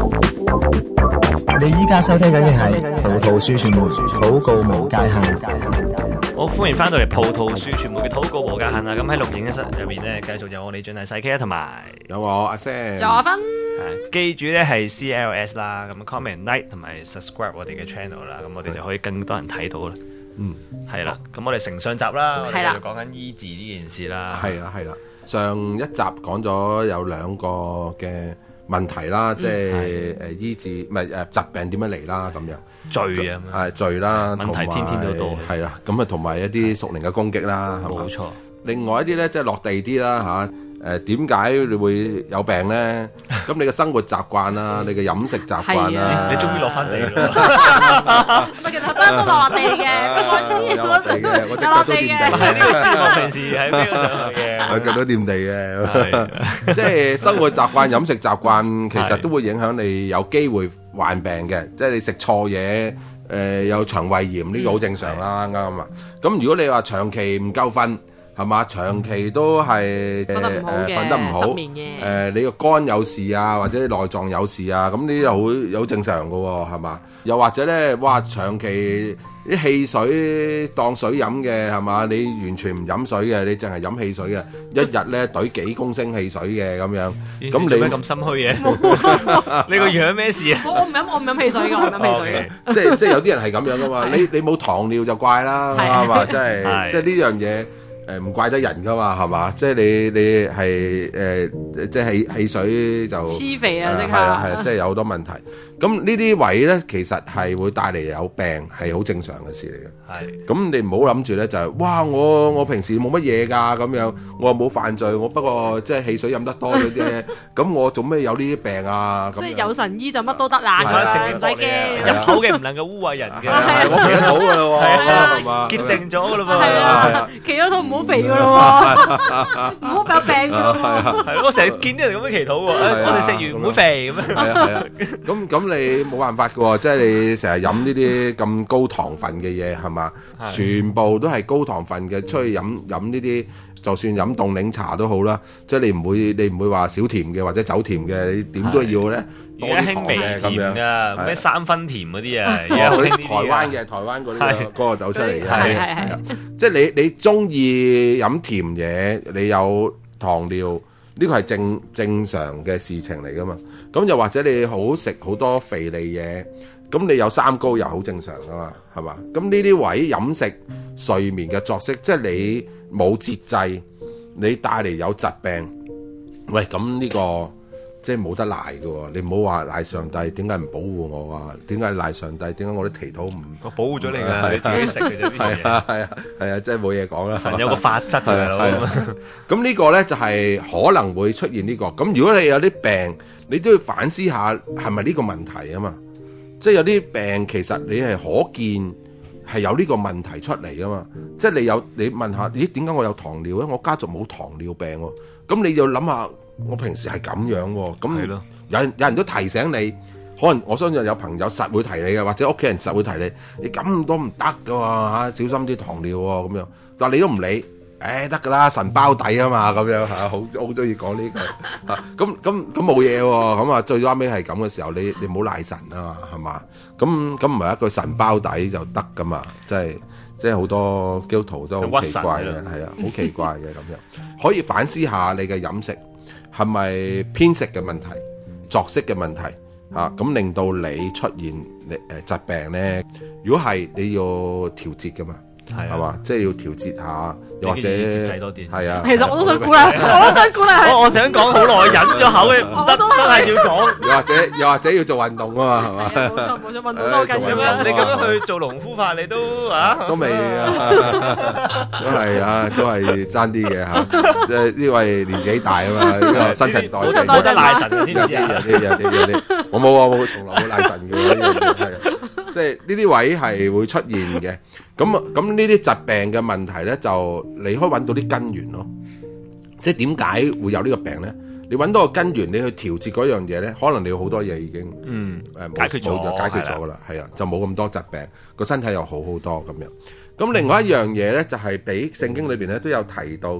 你依家收聽緊嘅係葡萄樹傳媒禱告無界限。 好，歡迎翻到嚟葡萄樹傳媒嘅禱告無界限啊！咁喺錄影室入邊咧，繼續有我李俊毅細 K 同埋有我阿 Sam。 佐芬記住咧係 CLS 啦，咁 comment like 同埋 subscribe 我哋嘅 channel 啦，咁我哋就可以更多人睇到啦。係啦，咁我哋承上集啦，我哋就講緊醫治呢件事啦。 係啦，上一集講咗有兩個嘅問題啦，即係醫治唔係疾病點樣嚟啦咁樣。 罪啊， 罪啦， 問題天天都多。 係啦，咁啊同埋一啲屬靈嘅攻擊啦，係嘛？ 冇錯。另外一啲咧，即係落地啲啦嚇，點解你會有病咧？咁你嘅生活習慣啦，你嘅飲食習慣啦， 你終於落翻地咯。 唔係，其實不嬲都落地嘅， 有落地嘅，我隻腳都掂地嘅。 呢個知我平時喺邊度上去嘅， 我腳都掂地嘅。即係生活習慣、飲食習慣，其實都會影響你有機會患病嘅。即係你食錯嘢，有腸胃炎呢個好正常啦，啱啊。咁如果你話長期唔夠瞓，係嘛？長期都係瞓得唔好，你個肝有事啊，或者內臟有事啊，咁呢啲好正常㗎喎，係嘛？又或者咧，哇，長期啲汽水當水飲嘅，係嘛？你完全唔飲水嘅，你淨係飲汽水嘅，一日咧懟幾公升汽水嘅咁樣，咁你咩咁心虛嘅？你個樣咩事啊？ 我唔飲汽水嘅，我唔飲汽水嘅。 即係有啲人係咁樣噶嘛？你冇糖尿就怪啦，係嘛？即係呢樣嘢。唔怪得人噶嘛，係嘛？即係你係即係汽水就黐肥啊！ 係啊，即係有好多問題。咁呢啲位咧，其實係會帶嚟有病，係好正常嘅事嚟嘅。係。咁你唔好諗住咧，就係哇！我平時冇乜嘢㗎咁樣，我又冇犯罪，我不過即係汽水飲得多嗰啲，咁我做咩有呢啲病啊？ 即係有神醫就乜都得啦，唔使驚。 入口嘅唔能夠污穢人嘅。 我企得到㗎咯喎，係嘛？ 潔淨咗㗎咯喎。 係啊，企得到唔好肥㗎咯喎，唔好有病㗎咯喎。 係我成日見啲人咁樣祈禱喎，我哋食完唔會肥咁樣。 係啊，咁你冇辦法㗎喎，即係你成日飲呢啲咁高糖分嘅嘢係嘛？全部都係高糖分嘅，出去飲呢啲，就算飲凍檸茶都好啦，即係你唔會話少甜嘅或者走甜嘅，你點都要咧多啲糖嘅咁樣㗎， 咩3分甜嗰啲啊， 嗰啲台灣嗰個走出嚟嘅，係即係你中意飲甜嘢，你有糖尿。呢個係正常嘅事情嚟噶嘛？咁又或者你好食好多肥膩嘢，咁你有三高又好正常噶嘛？係嘛？咁呢啲位飲食、睡眠嘅作息，即係你冇節制，你帶嚟有疾病，喂，咁呢個即係冇得賴㗎喎。你唔好話賴上帝，點解唔保護我啊？點解賴上帝？點解我啲祈禱唔我保護咗你㗎？你自己食嘅啫， 係啊，即係冇嘢講啦。 神有個法則㗎， 咁呢個咧就係可能會出現呢個。咁如果你有啲病，你都要反思下係咪呢個問題啊嘛？即係有啲病其實你係可見係有呢個問題出嚟㗎嘛？即係你問下，咦，點解我有糖尿咧？我家族冇糖尿病喎。咁你要諗下。我平時係咁樣喎，咁有人都提醒你，可能我相信有朋友實會提你嘅，或者屋企人實會提你咁多唔得㗎喎嚇，小心啲糖尿喎咁樣，但係你都唔理，得㗎啦，神包底啊嘛咁樣嚇，好中意講呢句嚇，咁冇嘢喎，咁啊最啱尾係咁嘅時候，你唔好賴神啊嘛，係嘛？咁唔係一句神包底就得㗎嘛，即係好多基督徒都好奇怪嘅，係啊，好奇怪嘅咁樣，可以反思下你嘅飲食。係咪偏食嘅問題、作息嘅問題嚇？咁令到你出現疾病咧？如果係你要調節㗎嘛，係嘛？即係要調節下，又或者係啊。 其實我都想鼓勵， 我想講好耐，忍咗口嘅，唔得真係要講。 又或者要做運動啊嘛，係嘛？ 冇錯，運動都緊要啊！ 你咁樣去做農夫法，你都都未啊，都係爭啲嘅嚇。即係呢位年紀大啊嘛，呢個新陳代謝冇得賴神添， 有啲，我冇啊，我從來冇賴神嘅呢樣嘢係。即係呢啲位係會出現嘅，咁呢啲疾病嘅問題咧，就你可以揾到啲根源咯。即係點解會有呢個病咧？你揾到個根源，你去調節嗰樣嘢咧，可能你好多嘢已經解決咗噶啦，係啊，就冇咁多疾病，個身體又好好多咁樣。咁另外一樣嘢咧，就係俾聖經裏邊咧都有提到嘅，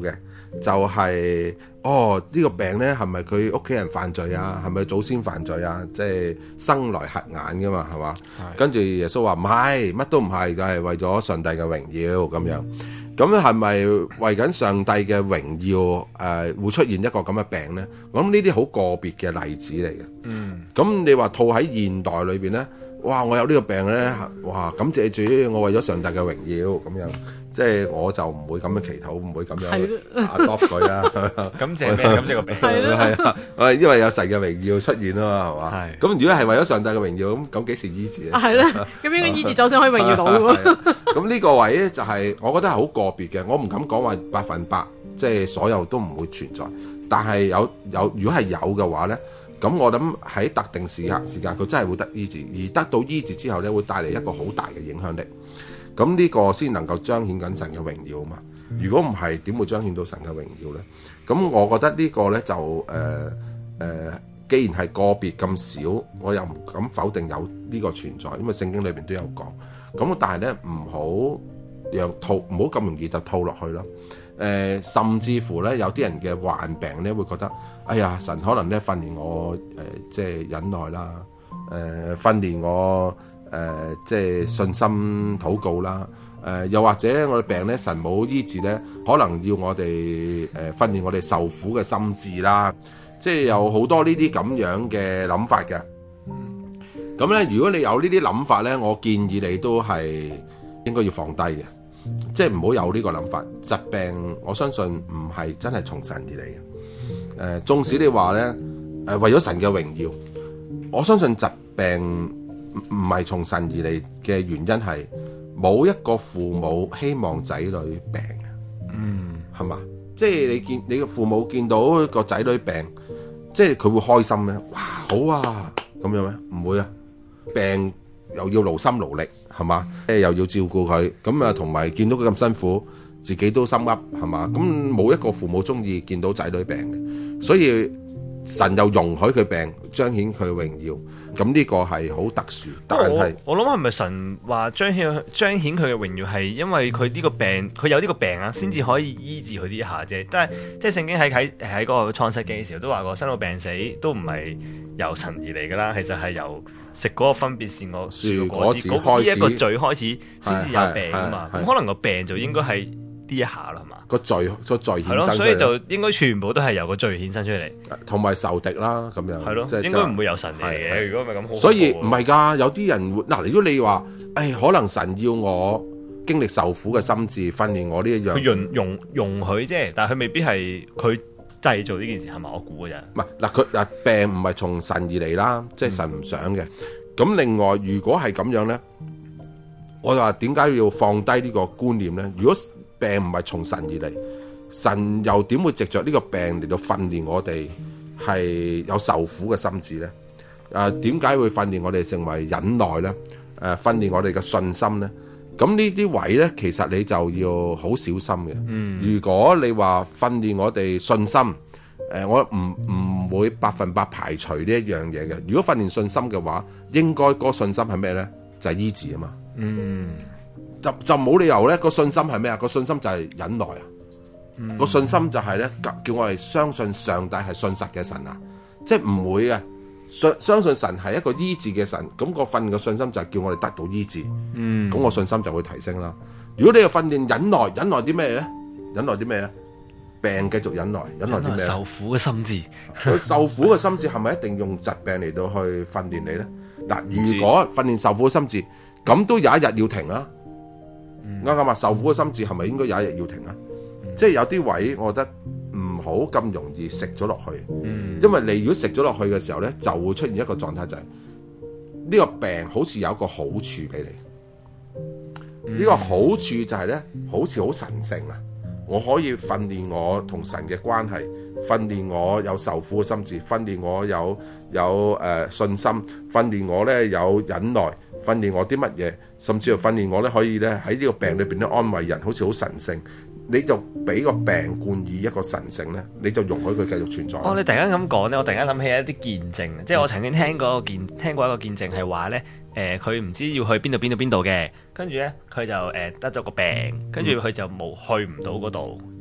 就係呢個病咧係咪佢屋企人犯罪啊？係咪祖先犯罪啊？即係生來瞎眼噶嘛，係嘛？跟住耶穌話唔係，乜都唔係，就係為咗上帝嘅榮耀咁樣。咁係咪為緊上帝嘅榮耀會出現一個咁嘅病咧？我諗呢啲好個別嘅例子嚟嘅。咁你話套喺現代裏邊咧？哇！我有呢個病咧，哇！感謝主，我為咗上帝嘅榮耀咁樣，即係我就唔會咁樣祈禱，唔會咁樣adopt佢啦。 感謝咩？感謝個病係啊，因為有神嘅榮耀出現啊嘛，係嘛？係。咁如果係為咗上帝嘅榮耀，咁幾時醫治咧？係啦，咁應該醫治咗先可以榮耀到喎。 咁呢個位咧就係我覺得係好個別嘅，我唔敢講話100%，即係所有都唔會存在。但係有，如果係有嘅話咧。咁我諗喺特定時間佢真係會得醫治，而得到醫治之後咧，會帶嚟一個好大嘅影響力。咁呢個先能夠彰顯緊神嘅榮耀啊嘛。如果唔係，點會彰顯到神嘅榮耀咧？咁我覺得呢個咧就既然係個別咁少，我又唔敢否定有呢個存在，因為聖經裏邊都有講。咁但係咧唔好咁容易就套落去咯。甚至乎咧，有啲人嘅患病咧，會覺得，哎呀，神可能咧訓練我即係忍耐啦，訓練我即係信心禱告啦，又或者我哋病咧，神冇醫治咧，可能要我哋訓練我哋受苦嘅心志啦，即係有好多呢啲咁樣嘅諗法嘅。咁咧，如果你有呢啲諗法咧，我建議你都係應該要放低嘅。即係唔好有呢個諗法，疾病我相信唔係真係從神而嚟嘅。縱使你話咧，為咗神嘅榮耀，我相信疾病唔係從神而嚟嘅原因係冇一個父母希望仔女病嘅，係嘛？即係你嘅父母見到個仔女病，即係佢會開心咩？哇，好啊，咁樣咩？唔會啊，病又要勞心勞力。係嘛？又要照顧佢，咁啊，同埋見到佢咁辛苦，自己都心噏，係嘛？咁冇一個父母中意見到仔女病嘅，所以神又容許佢病，彰顯佢嘅榮耀。咁呢個係好特殊，但係我諗係咪神話彰顯佢嘅榮耀係因為佢呢個病，佢有呢個病啊，先至可以醫治佢呢一下啫。但係即係聖經喺嗰個創世記嘅時候都話過，生老病死都唔係由神而嚟噶啦，其實係由食嗰個分別善惡樹果子呢一個罪開始先至有病啊嘛。咁可能個病就應該係呢一下啦，係嘛？個罪衍生出嚟， 所以就應該全部都係由個罪衍生出嚟， 同埋仇敵啦咁樣。係咯， 應該唔會由神嚟嘅。如果唔係咁好， 所以唔係㗎，有啲人會嗱。如果你話，可能神要我經歷受苦嘅心志，訓練我呢一樣， 佢容許啫，但係佢未必係佢製造呢件事，係咪？我估嘅啫。唔係嗱，佢病唔係從神而嚟啦，即係神唔想嘅。咁另外，如果係咁樣咧，我就話點解要放低呢個觀念咧？如果病唔係從神而嚟，神又點會藉着呢個病嚟到訓練我哋係有受苦嘅心志咧？點解會訓練我哋成為忍耐咧？訓練我哋嘅信心咧？咁呢啲位咧，其實你就要好小心嘅。如果你話訓練我哋信心，我唔會100%排除呢一樣嘢嘅。如果訓練信心嘅話，應該嗰個信心係咩咧？就係醫治啊嘛。就冇理由咧，個信心係咩啊？個信心就係忍耐啊！個信心就係咧，叫我哋相信上帝係信實嘅神啊！即係唔會嘅，相信神係一個醫治嘅神，咁個訓練嘅信心就係叫我哋得到醫治。咁個信心就會提升啦。如果你要訓練忍耐，忍耐啲咩咧？忍耐啲咩咧？病繼續忍耐，忍耐啲咩？ 受苦嘅心志， 受苦嘅心志係咪一定用疾病嚟到去訓練你咧？嗱，如果訓練受苦嘅心志，咁都有一日要停啊！啱啱話受苦嘅心志係咪應該有一日要停啊？即係有啲位，我覺得唔好咁容易食咗落去，因為你如果食咗落去嘅時候咧，就會出現一個狀態，就係呢個病好似有一個好處俾你。呢個好處就係咧，好似好神聖啊！我可以訓練我同神嘅關係，訓練我有受苦嘅心志，訓練我有信心，訓練我咧有忍耐。訓練我啲乜嘢，甚至乎訓練我咧可以咧喺呢個病裏邊咧安慰人，好似好神聖。你就俾個病冠以一個神聖咧，你就容許佢繼續存在。 你突然間咁講咧，我突然間諗起一啲見證，即係我曾經聽過一個見證係話咧，佢唔知要去邊度嘅，跟住咧佢就得咗個病，跟住佢就去唔到嗰度，然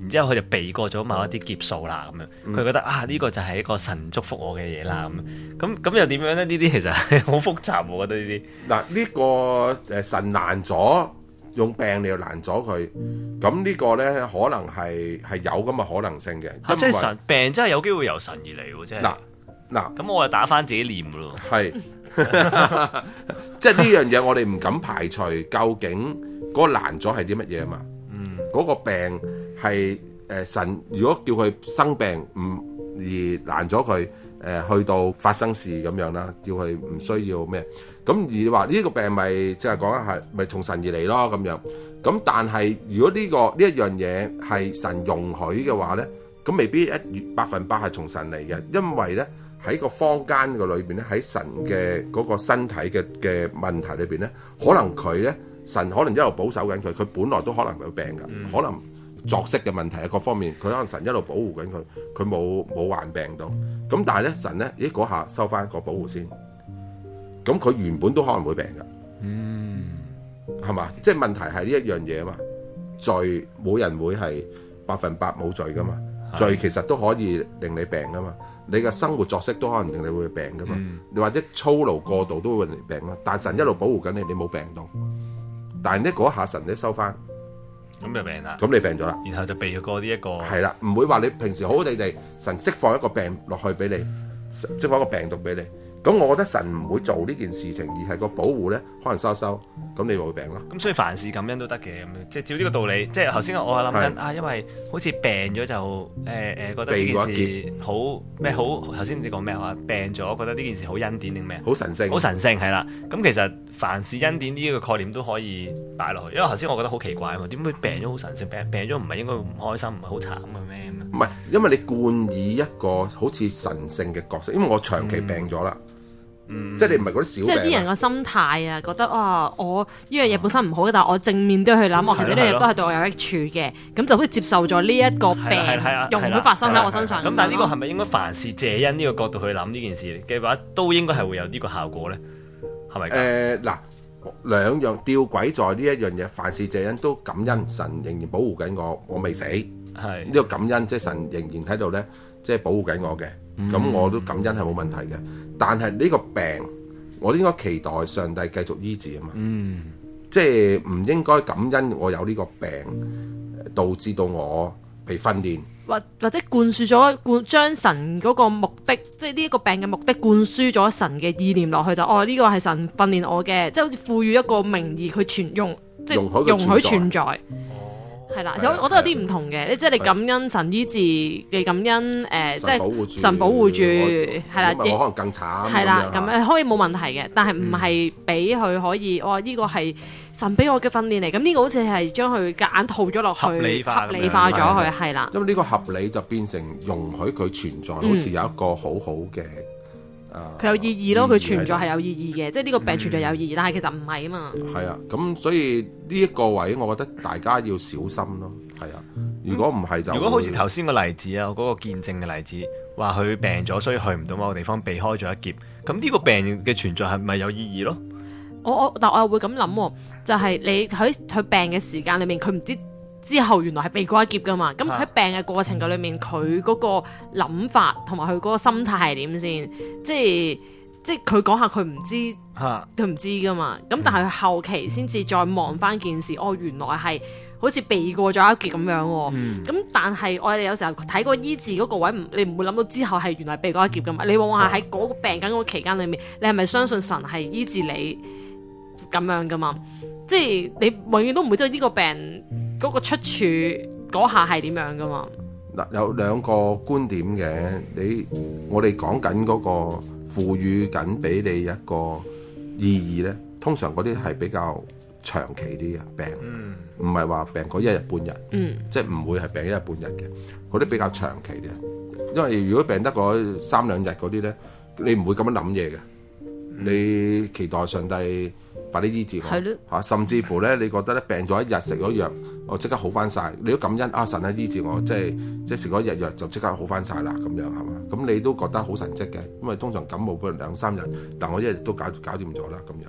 然之後佢就避過咗某一啲劫數啦咁樣，佢覺得呢個就係一個神祝福我嘅嘢啦咁又點樣咧？呢啲其實係好複雜，我覺得呢啲。 嗱，呢個神難咗，用病你又難咗佢，咁呢個咧可能係有咁嘅可能性嘅。 即係神病真係有機會由神而嚟喎，即係。嗱，咁我就打翻自己念咯。係， 即係呢樣嘢我哋唔敢排除，究竟嗰個難咗係啲乜嘢啊嘛？嗰個病係神如果叫佢生病而難咗佢去到發生事咁樣啦，叫佢唔需要咩？咁而話呢個病咪即係講係咪從神而嚟咯咁樣？咁但係如果呢一樣嘢係神容許嘅話咧，咁未必100%係從神嚟嘅，因為咧喺個坊間嘅裏邊咧，喺神嘅嗰個身體嘅問題裏邊咧，可能佢咧神可能一路保守緊佢，佢本來都可能有病㗎，可能作息嘅問題啊各方面，佢可能神一路保護緊佢，佢冇患病到。咁但係咧神咧，嗰下收翻個保護先，咁佢原本都可能會病㗎，係嘛？即係問題係呢一樣嘢啊嘛，罪冇人會係100%冇罪㗎嘛，罪其實都可以令你病㗎嘛，你嘅生活作息都可能令你會病㗎嘛，你或者操勞過度都會令你病啦。但係神一路保護緊你，你冇病到，但係呢嗰下神咧收翻。 咁就病啦， 咁你病咗啦， 然後就避過呢一個係啦，唔會話你平時好好地神釋放一個病落去俾你，釋放一個病毒俾你。咁我覺得神唔會做呢件事情，而係個保護咧，可能收，咁你咪會病咯。 咁所以凡事感恩都得嘅，咁即係照呢個道理。即係頭先我諗緊因為好似病咗就覺得呢件事好咩好？頭先你講咩話？病咗覺得呢件事好恩典定咩？ 好神聖， 好神聖係啦。咁其實凡事恩典呢個概念都可以擺落去，因為頭先我覺得好奇怪啊嘛，點會病咗好神聖？病咗唔係應該唔開心，唔係好慘嘅咩？ 唔係，因為你冠以一個好似神聖嘅角色，因為我長期病咗啦。即係你唔係嗰啲小病， 即係啲人個心態啊，覺得我呢樣嘢本身唔好，但係我正面都去諗，我其實呢樣嘢都係對我有益處嘅，咁就好似接受咗呢一個病容許發生喺我身上。 咁但係呢個係咪應該凡事謝恩呢個角度去諗呢件事嘅話，都應該係會有呢個效果咧？係咪？ 嗱，兩樣吊詭在呢一樣嘢，凡事謝恩都感恩神仍然保護緊我未死，係呢個感恩，即係神仍然喺度咧，即係保護緊我嘅。咁我都感恩係冇問題嘅，但係呢個病我應該期待上帝繼續醫治啊嘛，即係唔應該感恩我有呢個病導致到我被訓練， 或者灌輸咗將神嗰個目的，即係呢一個病嘅目的灌輸咗神嘅意念落去，就呢個係神訓練我嘅，即係好似賦予一個名義佢即係容許存在。係啦，我覺得有啲唔同嘅，即係你感恩神醫治，你感恩即係神保護住，係啦， 我可能更慘， 係啦，咁可以冇問題嘅，但係唔係俾佢可以，呢個係神俾我嘅訓練嚟，咁呢個好似係將佢夾硬套咗落去，合理化咗佢，係啦。 因為呢個合理就變成容許佢存在，好似有一個好好嘅。 佢有意義咯，佢存在係有意義嘅，即係呢個病存在有意義，但係其實唔係啊嘛。 係啊，咁所以呢一個位，我覺得大家要小心咯。係啊，如果唔係就如果好似頭先個例子啊，嗰個見證嘅例子，話佢病咗，所以去唔到某個地方，避開咗一劫。咁呢個病嘅存在係咪有意義咯？ 但我又會咁諗，就係你喺佢病嘅時間裏面，佢唔知之後原來係避過一劫噶嘛。咁佢喺病嘅過程嘅裏面，佢嗰個諗法同埋佢嗰個心態係點先？即係佢講下佢唔知，佢唔知噶嘛。咁但係佢後期先至再望翻件事，原來係好似避過咗一劫咁樣。咁但係我哋有時候睇過醫治嗰個位，你唔會諗到之後係原來避過一劫噶嘛。你往往係喺嗰個病緊嗰個期間裏面，你係咪相信神係醫治你咁樣噶嘛？即係你永遠都唔會知道呢個病嗰個出處嗰下係點樣噶嘛？ 嗱，有兩個觀點嘅，我哋講緊嗰個賦予緊俾你一個意義咧，通常嗰啲係比較長期啲嘅病，唔係話病嗰一日半日，即係唔會係病一日半日嘅，嗰啲比較長期嘅。因為如果病得嗰3兩日嗰啲咧，你唔會咁樣諗嘢嘅，你期待上帝快啲醫治我，甚至乎咧，你覺得咧病咗一日食咗藥，我即刻好翻晒，你都感恩神啊醫治我，即係食咗一日藥就即刻好翻晒啦，咁樣係嘛？咁你都覺得好神蹟嘅，因為通常感冒不如2-3日，但我一日都搞掂咗啦咁樣。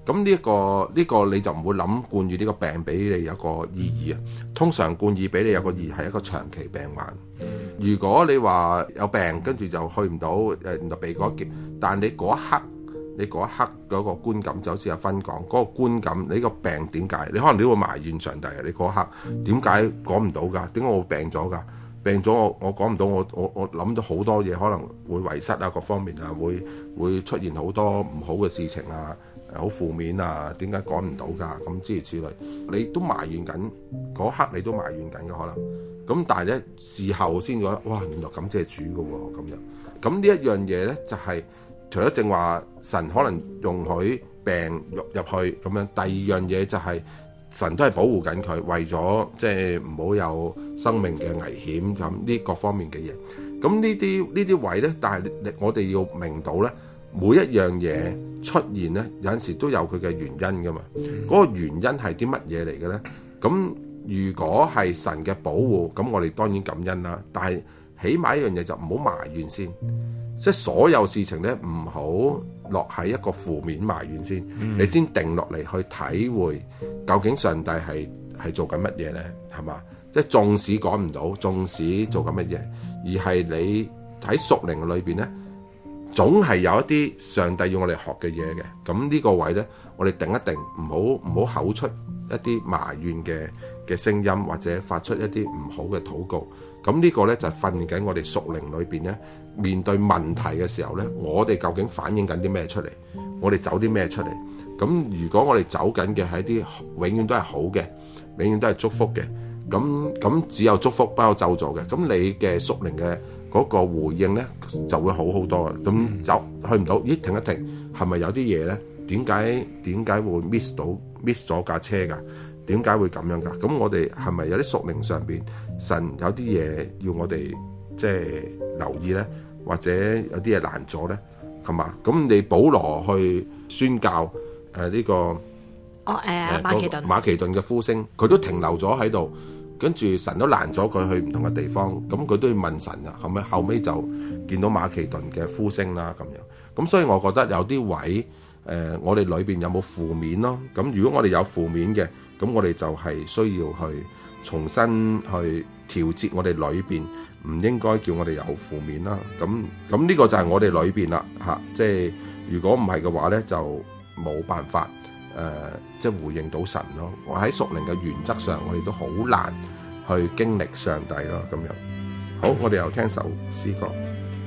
咁呢個你就唔會諗冠以呢個病俾你有個意義啊。通常冠以俾你有個意義係一個長期病患。如果你話有病跟住就去唔到原來避過一劫，但你嗰一刻嗰個觀感就好似阿芬講嗰個觀感，你個病點解？你可能你會埋怨上帝啊！你嗰一刻點解講唔到㗎？點解我會病咗㗎？病咗我講唔到，我諗咗好多嘢，可能會遺失啊，各方面啊，會出現好多唔好嘅事情啊，好負面啊，點解講唔到㗎？咁諸如此類，你都埋怨緊嗰刻，你都埋怨緊嘅可能。咁但係咧事後先覺得，哇！原來感謝主嘅喎，咁樣。咁呢一樣嘢咧就係、除咗正話神可能容許病入去咁樣，第二樣嘢就係、神都係保護緊佢，為咗即係唔好有生命嘅危險咁呢各方面嘅嘢。咁呢啲位咧，但係我哋要明到咧，每一樣嘢出現咧，有陣時都有佢嘅原因噶嘛。嗰個原因係啲乜嘢嚟嘅咧？咁如果係神嘅保護，咁我哋當然感恩啦。但係起碼一樣嘢就唔好埋怨先，即係所有事情咧唔好落喺一個負面埋怨先，你先定落嚟去體會究竟上帝係做緊乜嘢咧？係嘛？即係縱使講唔到，縱使做緊乜嘢，而係你喺屬靈裏邊咧，總係有一啲上帝要我哋學嘅嘢嘅。咁呢個位咧，我哋定一定，唔好口出一啲埋怨嘅聲音，或者發出一啲唔好嘅禱告。咁呢個咧就係訓緊我哋屬靈裏邊咧，面對問題嘅時候咧，我哋究竟反映緊啲咩出嚟？我哋走啲咩出嚟？咁如果我哋走緊嘅係一啲永遠都係好嘅，永遠都係祝福嘅，咁只有祝福不有咒詛嘅。咁你嘅屬靈嘅嗰個回應咧就會好好多。咁走去唔到，咦？停一停，係咪有啲嘢咧？點解會 miss 咗架車㗎？點解會咁樣㗎？咁我哋係咪有啲屬靈上邊神有啲嘢要我哋即係留意咧，或者有啲嘢難咗咧，係嘛？咁你保羅去宣教呢個馬其頓嘅呼聲，佢都停留咗喺度，跟住神都攔咗佢去唔同嘅地方，咁佢都要問神啊。後尾就見到馬其頓嘅呼聲啦，咁樣。咁所以我覺得有啲位我哋裏邊有冇負面咯？咁如果我哋有負面嘅，咁我哋就係需要去重新去調節我哋裏邊，唔應該叫我哋有負面啦。咁呢個就係我哋裏邊啦嚇，即係如果唔係嘅話咧，就冇辦法即係回應到神咯。我喺屬靈嘅原則上，我哋都好難去經歷上帝咯。咁樣好，我哋又聽首詩歌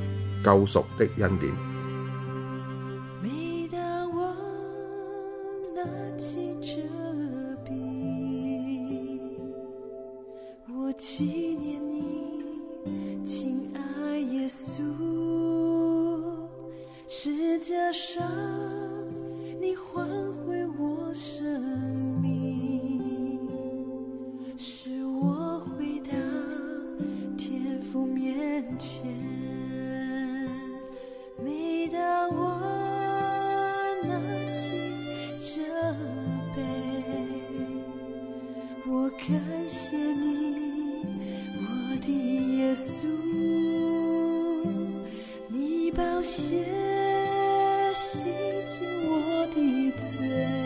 《救贖的恩典》。 纪念你，亲爱耶稣，十架上你换回我生命，使我回到天父面前。每当我拿起这杯，我感谢你，耶稣，你宝血洗净我的罪，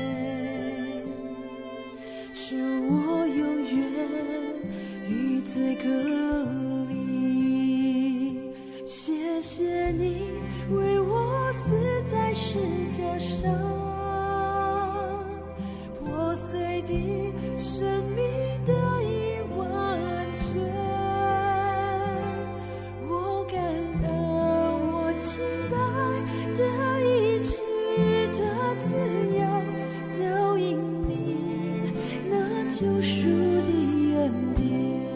使我永远与罪隔离。谢谢你为我死在十架上，破碎的生命得以完全。救赎的恩典，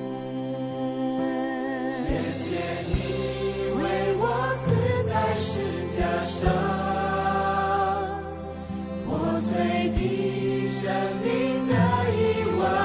谢谢你为我死在十架上，破碎的生命得以完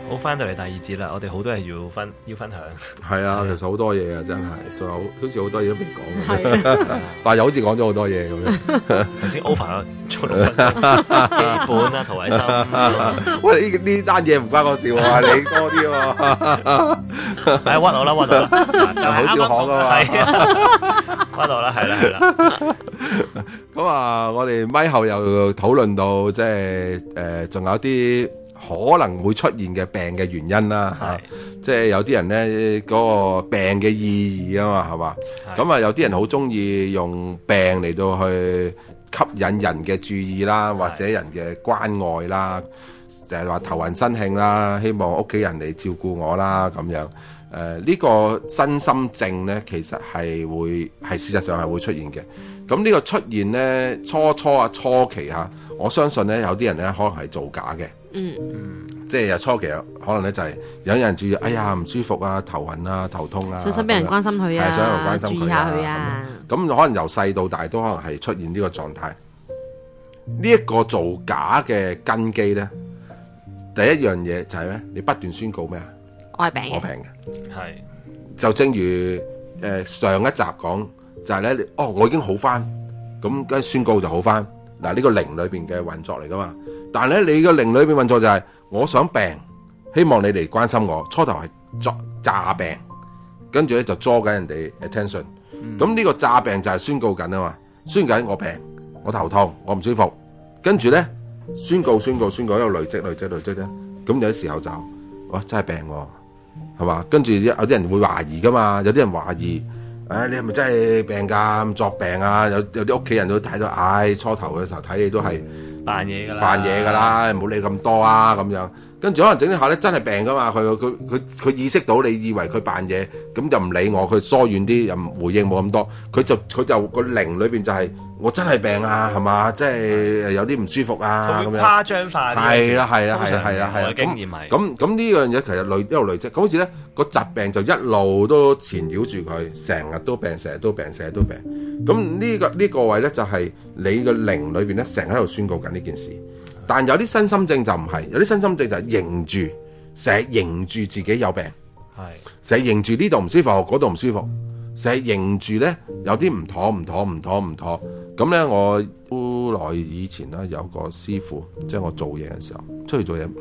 好，翻到嚟第二節啦，我哋好多嘢要分享。 係啊，其實好多嘢啊，真係，仲有好似好多嘢都未講嘅，但係又好似講咗好多嘢咁樣。 頭先 over 咗做6分鐘，基本啦，陶偉森。 喂，呢單嘢唔關我事喎，你多啲喎。 屈我啦，屈我啦，就好少講噶嘛。 係啊，屈我啦，係啦。 咁啊，我哋咪後又討論到即係仲有啲可能會出現嘅病嘅原因啦，嚇，即係有啲人咧嗰個病嘅意義啊嘛，係嘛？咁啊，有啲人好中意用病嚟到去吸引人嘅注意啦，或者人嘅關愛啦，就係話頭暈身㷫啦，希望屋企人嚟照顧我啦咁樣。呢個身心症咧，其實係事實上係會出現嘅。咁呢個出現咧，初期嚇，我相信咧有啲人咧可能係造假嘅。即係初期可能咧就係有人注意，哎呀唔舒服啊，頭暈啊，頭痛啊， 想俾人關心佢啊， 想人關心注意下佢啊。 咁可能由細到大都可能係出現呢個狀態。呢一個造假嘅根基咧，第一樣嘢就係咩？你不斷宣告咩啊？ 我係病嘅， 係就正如上一集講，就係咧，我已經好翻，咁跟住宣告就好翻。嗱，呢個靈裏邊嘅運作嚟噶嘛。但係咧，你個靈裏邊運作就係，我想病，希望你嚟關心我。初頭係詐病，跟住咧就抓緊人哋 attention。咁呢個詐病就係宣告緊啊嘛，宣告緊我病，我頭痛，我唔舒服。跟住咧宣告，一路累積咧，咁有啲時候就，哇真係病喎。係嘛？跟住有啲人會懷疑噶嘛，有啲人懷疑，你係咪真係病㗎？作病啊？有啲屋企人都睇到，初頭嘅時候睇你都係扮嘢㗎啦，唔好理咁多啊咁樣。跟住可能整啲下咧真係病㗎嘛，佢意識到你以為佢扮嘢，咁就唔理我，佢疏遠啲，又唔回應冇咁多，佢就個靈裏邊就係、我真係病啊，係嘛？即係有啲唔舒服啊咁樣。 誇張化啲。係啦。經驗係。 咁呢樣嘢其實一路累積，咁好似咧個疾病就一路都纏繞住佢，成日都病。咁呢個位咧就係你個靈裏邊咧成日喺度宣告緊呢件事。但有啲身心症就唔係，有啲身心症就係認住，成日認住自己有病，成日認住呢度唔舒服，嗰度唔舒服，成日認住咧有啲唔妥。咁咧我好耐以前咧有個師傅，即係我做嘢嘅時候，出去做嘢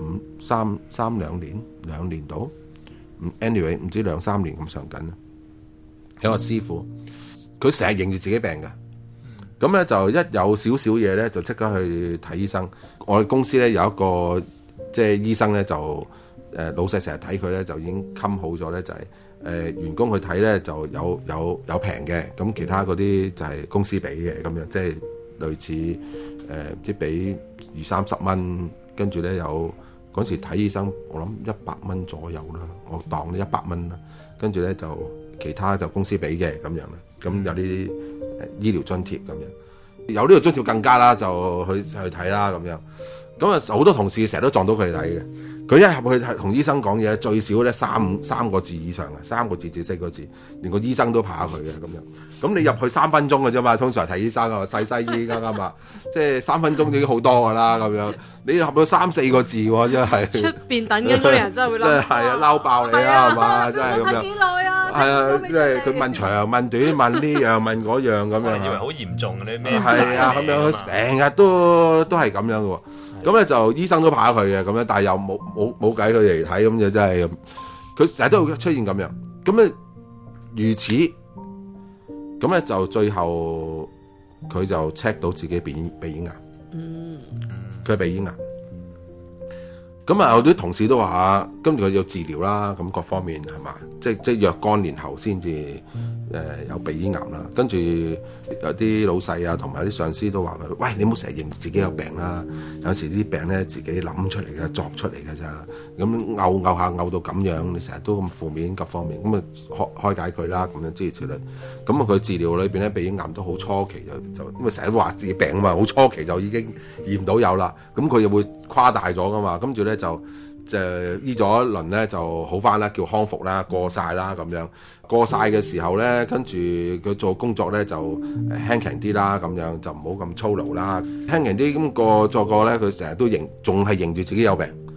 兩年到 ，anyway 唔知2-3年咁上緊啦。有個師傅，佢成日認住自己病嘅。咁咧就一有少少嘢咧，就即刻去睇醫生。我哋公司咧有一個即係醫生咧，就老細成日睇佢咧，就已經冚好咗咧，就係員工去睇咧就有平嘅，咁其他嗰啲就係公司俾嘅咁樣，即係類似即係俾20-30蚊，跟住咧有嗰時睇醫生，我諗100蚊左右啦，我當呢100蚊啦，跟住咧就其他就公司俾嘅咁樣啦，咁有啲醫療津貼咁樣，有呢個津貼更加啦，就去睇啦咁樣。咁啊好多同事成日都撞到佢睇嘅。佢一入去同醫生講嘢，最少咧三個字以上嘅，3個字至4個字，連個醫生都怕佢嘅咁樣。咁你入去3分鐘嘅啫嘛，通常睇醫生啊，細西醫啱啱啊，即係3分鐘已經好多㗎啦咁樣。你入到3-4個字喎，真係出邊等緊嗰啲人真係會嬲， 真係係啊嬲爆你啦係嘛，真係咁樣。 幾耐啊？ 係啊，即係佢問長問短，問呢樣問嗰樣咁樣。 以為好嚴重嘅咩？ 係啊，咁樣佢成日都係咁樣嘅喎。咁咧就醫生都怕佢嘅咁樣，但係又冇計佢嚟睇，咁就真係咁。佢成日都會出現咁樣。咁咧如此，咁咧就最後佢就 check 到自己鼻咽癌。佢係鼻咽癌。咁啊，有啲同事都話，跟住佢要治療啦，咁各方面係嘛，即係若干年後先至有鼻咽癌啦。跟住有啲老細啊，同埋啲上司都話佢，喂，你唔好成日認自己有病啦。有時啲病咧自己諗出嚟嘅，作出嚟嘅咋。咁嘔下嘔到咁樣，你成日都咁負面各方面，咁啊開解佢啦，咁樣諸如此類。咁啊佢治療裏邊咧鼻咽癌都好初期就因為成日都話自己病啊嘛，好初期就已經驗到有啦。咁佢又會誇大咗噶嘛，跟住咧就醫咗一輪咧就好翻啦，叫康復啦，過晒啦咁樣。過晒嘅時候咧，跟住佢做工作咧就輕輕啲啦，咁樣就唔好咁操勞啦，輕輕啲咁做過咧，佢成日都仲係認住自己有病，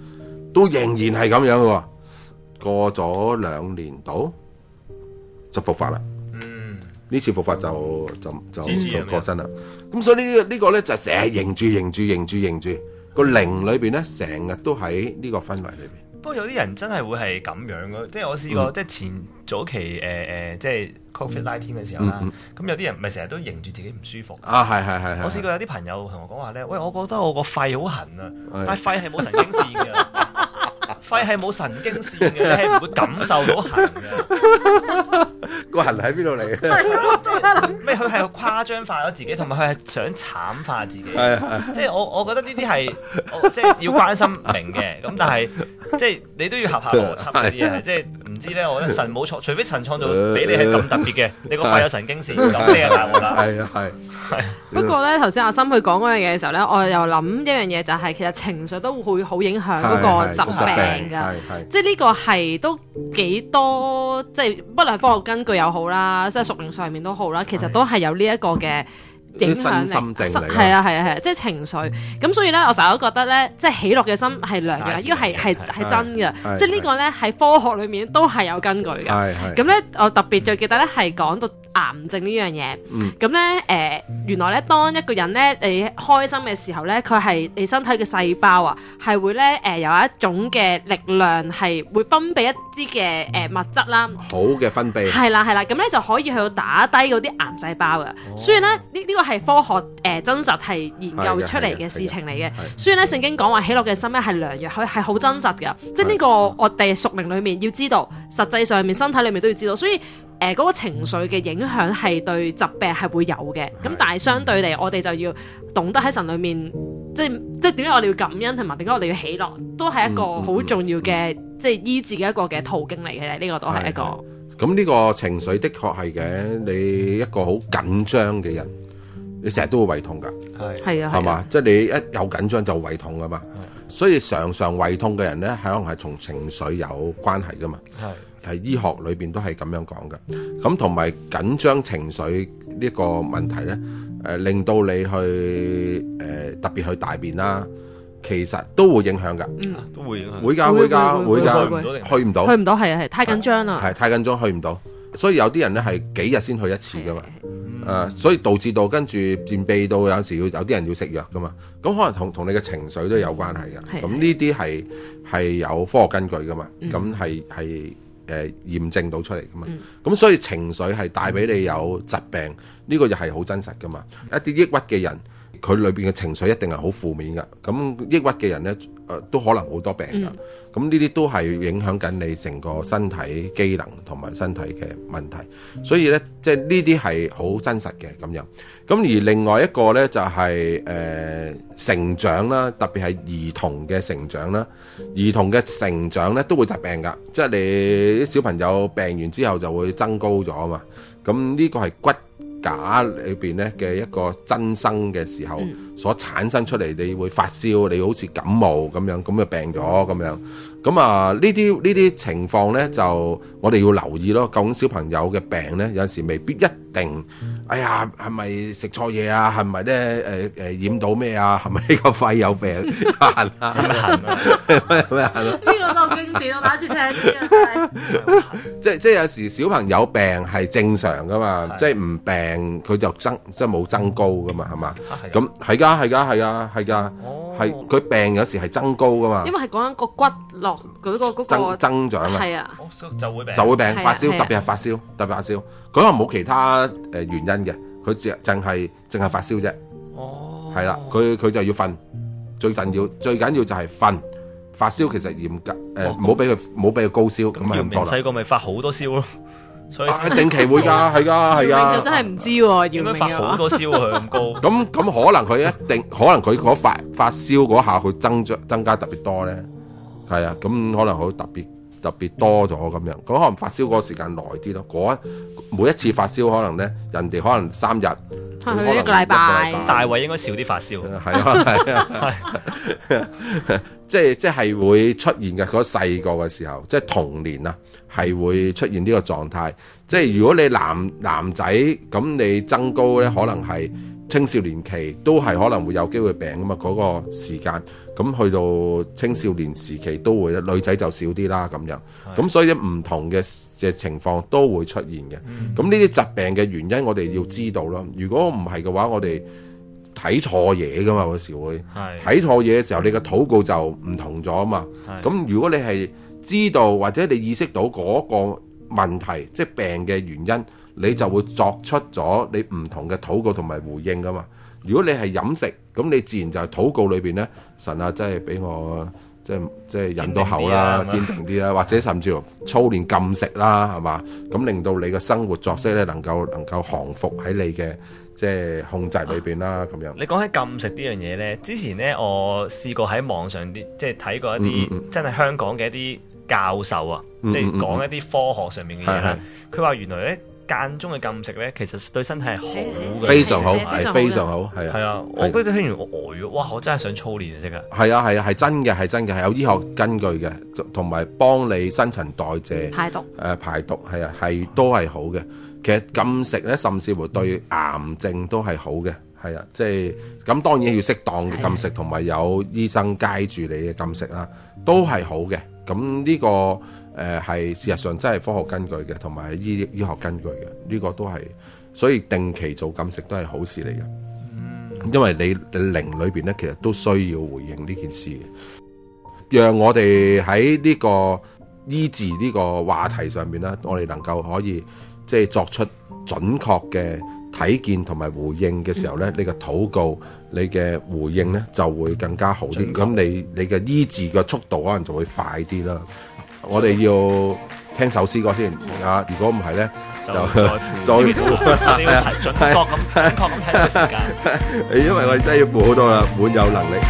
都仍然係咁樣嘅喎。過咗2年度就復發啦。呢次復發就過身啦。咁所以呢個咧就成日認住個靈裏邊咧，成日都喺呢個氛圍裏邊。 不過有啲人真係會係咁樣嘅，即係我試過，即係前早期即係 COVID-19 嘅時候啦。咁有啲人咪成日都認住自己唔舒服。 啊，係。 我試過有啲朋友同我講話咧，喂，我覺得我個肺好痕啊，但係肺係冇神經線嘅。肺係冇神經線嘅，你係唔會感受到痕嘅。 個痕喺邊度嚟嘅？ 咩？佢係誇張化咗自己，同埋佢係想慘化自己。即係我覺得呢啲係即係要關心明嘅。咁但係即係你都要合下邏輯嗰啲嘢。即係唔知咧，我覺得神冇錯，除非神創造俾你係咁特別嘅，你個肺有神經線，咁你就大鑊啦。 係。 不過咧，頭先阿森佢講嗰樣嘢嘅時候咧，我又諗一樣嘢就係，其實情緒都會好影響嗰個疾病㗎。即係呢個係都幾多，即係不論科學根據又好啦，即係屬靈上面都好啦，其實都係有呢一個嘅影響力。 心症嚟㗎。 係啊，即係情緒。咁所以咧，我成日都覺得咧，即係喜樂嘅心係良藥，呢個係真嘅。即係呢個咧喺科學裏面都係有根據嘅。咁咧，我特別最記得咧係講到癌症呢樣嘢。咁咧原來咧當一個人咧你開心嘅時候咧，佢係你身體嘅細胞啊，係會咧有一種嘅力量係會分泌一啲嘅物質啦， 好嘅分泌。係啦，咁咧就可以去到打低嗰啲癌細胞嘅。所以咧呢個係科學真實係研究出嚟嘅事情嚟嘅。所以咧聖經講話喜樂嘅心咧係良藥，佢係好真實嘅。即係呢個我哋屬靈裏面要知道，實際上面身體裏面都要知道。所以嗰個情緒嘅影響係對疾病係會有嘅，咁但係相對嚟，我哋就要懂得喺神裏面，即係點解我哋要感恩，同埋點解我哋要喜樂，都係一個好重要嘅，即係醫治嘅一個嘅途徑嚟嘅。呢個都係一個。 咁呢個情緒的確係嘅，你一個好緊張嘅人，你成日都會胃痛㗎。 係啊， 係嘛？即係你一有緊張就胃痛㗎嘛。所以常胃痛嘅人咧，可能係同情緒有關係㗎嘛。係醫學裏邊都係咁樣講嘅，咁同埋緊張情緒呢個問題咧，令到你去特別去大便啦，其實都會影響㗎， 都會影響， 會㗎，去唔到， 係太緊張啦， 係太緊張去唔到，所以有啲人咧係幾日先去一次㗎嘛，所以導致到跟住便秘到有時有啲人要食藥㗎嘛，咁可能同你嘅情緒都有關係㗎，咁呢啲係有科學根據㗎嘛，咁係。驗證到出嚟噶嘛，咁所以情緒係帶俾你有疾病，呢個又係好真實噶嘛。一啲抑鬱嘅人，佢裏邊嘅情緒一定係好負面噶。咁抑鬱嘅人呢，都可能好多病噶。咁呢啲都係影響緊你成個身體機能同埋身體嘅問題。所以呢，即係呢啲係好真實嘅咁樣。咁而另外一個呢，就係成長啦，特別係兒童嘅成長啦。兒童嘅成長呢，都會疾病噶，即係你啲小朋友病完之後就會增高咗啊嘛。咁呢個係骨架裏邊咧嘅一個增生嘅時候所產生出嚟，你會發燒，你好似感冒咁樣，咁就病咗咁樣。咁啊呢啲情況咧，就我哋要留意咯。究竟小朋友嘅病咧，有陣時未必一定。哎呀，係咪食錯嘢啊？係咪咧？染到咩啊？係咪呢個肺有病痕啊？咩痕？ 呢個都好經典，我打住聽嘅。 即係有時小朋友病係正常噶嘛，即係唔病佢就即係冇增高噶嘛，係嘛？咁係㗎，係佢病有時係增高噶嘛。因為係講緊個骨落嗰個增長啊， 係啊， 就會病發燒，特別係發燒，佢可能冇其他原因嘅，佢淨係發燒啫。哦，係啦，佢就要瞓，最緊要就係瞓。發燒其實嚴格唔好俾佢高燒，咁咪咁多啦。 細個咪發好多燒咯，所以定期會㗎，係㗎。 就真係唔知喎， 點解發好多燒佢咁高？ 咁可能佢佢嗰發燒嗰下佢增加特別多咧，係啊，咁可能好特別多咗咁樣，咁可能發燒嗰個時間耐啲咯。每一次發燒可能咧，人哋可能3日，可能一個禮拜。 大衛應該少啲發燒， 係啊，即係會出現嘅。嗰細個嘅時候，即係童年啊，係會出現呢個狀態。即係如果你男仔咁，你增高咧，可能係青少年期都係可能會有機會病噶嘛，嗰個時間，咁去到青少年時期都會咧，女仔就少啲啦咁樣，咁所以唔同嘅情況都會出現嘅。咁呢啲疾病嘅原因我哋要知道咯。如果唔係嘅話，我哋睇錯嘢噶嘛，有時會睇錯嘢嘅時候，你嘅禱告就唔同咗啊嘛。咁如果你係知道或者你意識到嗰個問題，即係病嘅原因，你就會作出咗你唔同嘅禱告同埋回應噶嘛。如果你係飲食，咁你自然就係禱告裏邊咧，神啊，真係俾我即係忍到口啦，堅定啲啦，或者甚至乎操練禁食啦，係嘛？咁令到你嘅生活作息咧能夠降服喺你嘅即係控制裏邊啦，咁樣。 你講起禁食呢樣嘢咧，之前咧我試過喺網上啲即係睇過一啲真係香港嘅一啲教授啊，即係講一啲科學上面嘅嘢啦。佢話原來咧間中嘅禁食咧，其實對身體係好嘅， 非常好，係非常好，係啊。 係啊，我嗰陣聽完我呆咗，哇！我真係想操練啊，即刻。 係啊，係真嘅，係真嘅，係有醫學根據嘅，同埋幫你新陳代謝、排毒，係啊，係都係好嘅。其實禁食咧，甚至乎對癌症都係好嘅，係啊，即係咁當然要適當嘅禁食，同埋有醫生街住你嘅禁食啦，都係好嘅。咁呢個係事實上真係科學根據嘅，同埋醫學根據嘅，呢個都係，所以定期做禁食都係好事嚟嘅。因為你靈裏邊咧，其實都需要回應呢件事嘅，讓我哋喺呢個醫治呢個話題上面咧，我哋能夠可以即係作出準確嘅睇見同埋回應嘅時候咧，你嘅禱告、你嘅回應咧就會更加好啲。咁你嘅醫治嘅速度可能就會快啲啦。我哋要聽首詩歌先啊！如果唔係咧，就再你要準確咁睇個時間。 因為我哋真係要付好多啦，滿有能力。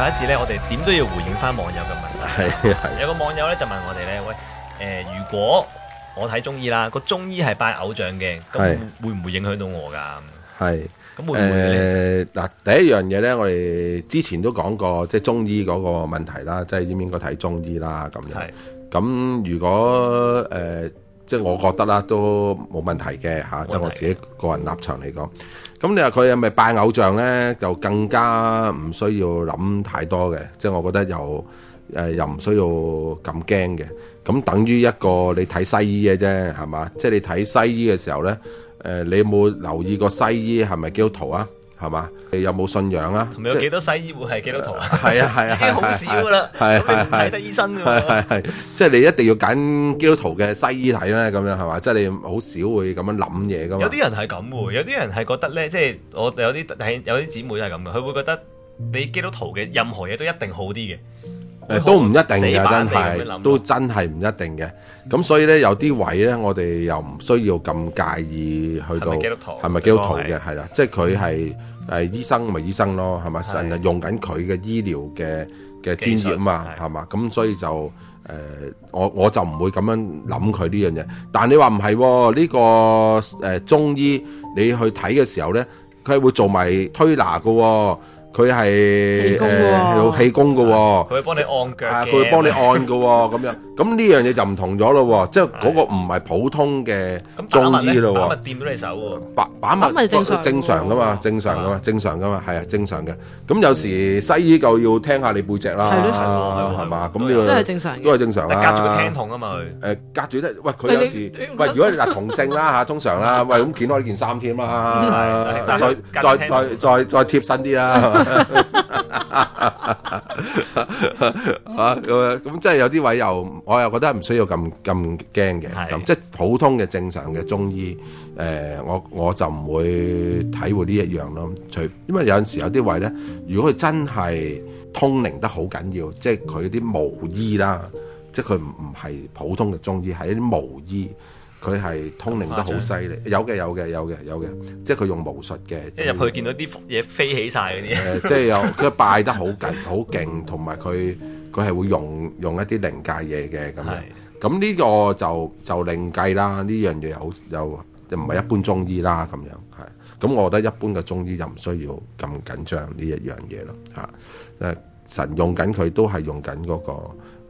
一節咧，我哋點都要回應翻網友嘅問題。 係有個網友咧就問我哋咧，喂，如果我睇中醫啦，個中醫係拜偶像嘅，咁會唔會影響到我㗎？ 係。 咁會唔會嗱，第一樣嘢咧，我哋之前都講過，即係中醫嗰個問題啦，即係應唔應該睇中醫啦咁樣。咁如果即係我覺得啦，都冇問題嘅嚇，即係我自己個人立場嚟講。咁你話佢係咪拜偶像咧，就更加唔需要諗太多嘅。即係我覺得又唔需要咁驚嘅。咁等於一個你睇西醫嘅啫，係嘛？即係你睇西醫嘅時候咧。你有冇留意過西醫係咪基督徒啊？係嘛？你有冇信仰啊？ 同埋有幾多西醫會係基督徒啊？ 係啊係啊， 已經好少噶啦。係睇得醫生㗎喎。 係，即係你一定要揀基督徒嘅西醫睇咧，咁樣係嘛？即係你好少會咁樣諗嘢噶嘛。 有啲人係咁喎，有啲人係覺得咧，即係我有啲姊妹係咁嘅，佢會覺得你基督徒嘅任何嘢都一定好啲嘅。 都唔一定嘅，真係都真係唔一定嘅。咁所以咧，有啲位咧，我哋又唔需要咁介意去到係咪基督徒嘅，係啦，即係佢係醫生咪醫生咯，係咪？成日用緊佢嘅醫療嘅專業啊嘛，係嘛？咁所以就我就唔會咁樣諗佢呢樣嘢。但係你話唔係呢個中醫，你去睇嘅時候咧，佢係會做埋推拿嘅。佢係有氣功嘅喎， 佢會幫你按腳嘅， 佢會幫你按嘅喎，咁樣咁呢樣嘢就唔同咗咯喎，即係嗰個唔係普通嘅中醫咯喎。把脈掂到你手喎， 把脈正常噶嘛，正常噶嘛，係啊，正常嘅。咁有時西醫就要聽下你背脊啦，係嘛？咁呢個都係正常，都係正常啦。 隔住個聽筒啊嘛，佢隔住咧，喂佢有時喂，如果你嗱同性啦嚇，通常啦，喂咁掀開呢件衫添啦，再貼身啲啦。咁即係有啲位我又覺得唔需要咁驚嘅，咁即係普通嘅正常嘅中醫，我就唔會體會呢一樣咯。因為有陣時有啲位咧，如果佢真係通靈得好緊要，即係佢啲巫醫啦，即係佢唔係普通嘅中醫，係一啲巫醫。佢係通靈得好犀利，有嘅，即係佢用巫術嘅。 一入去見到啲嘢飛起晒嗰啲。 即係佢拜得好勁，同埋佢係會用一啲靈界嘢嘅咁樣。咁呢個就另計啦。呢樣嘢又唔係一般中醫啦咁樣係。咁我覺得一般嘅中醫就唔需要咁緊張呢一樣嘢咯嚇。神用緊佢都係用緊嗰個